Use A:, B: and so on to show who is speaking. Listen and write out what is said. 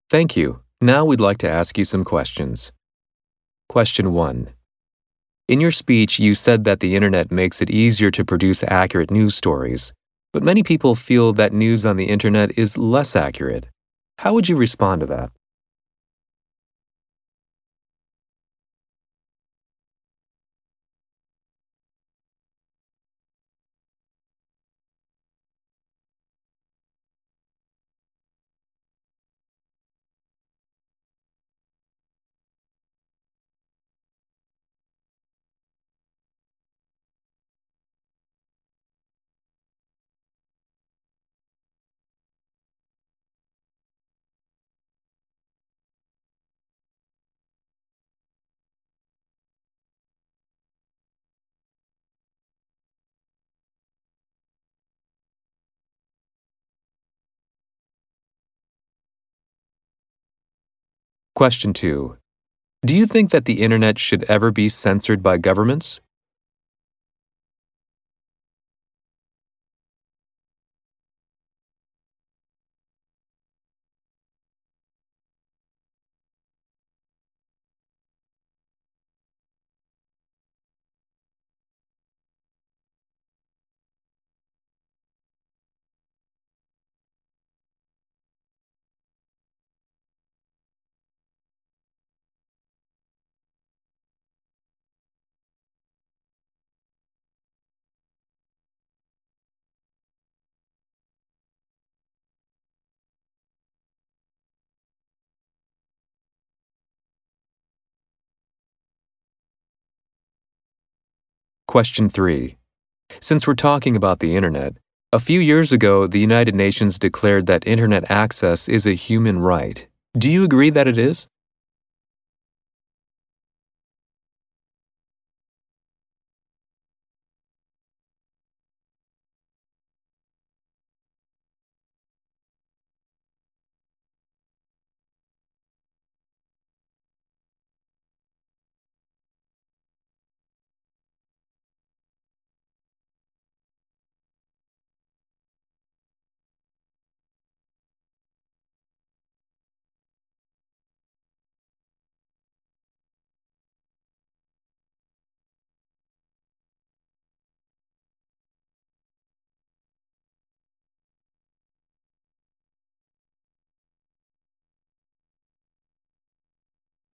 A: Thank you. Now we'd like to ask you some questions. Question 1. In your speech, you said that the internet makes it easier to produce accurate news stories, but many people feel that news on the internet is less accurate. How would you respond to that? Question 2. Do you think that the internet should ever be censored by governments? Question 3. Since we're talking about the internet, a few years ago, the United Nations declared that internet access is a human right. Do you agree that it is?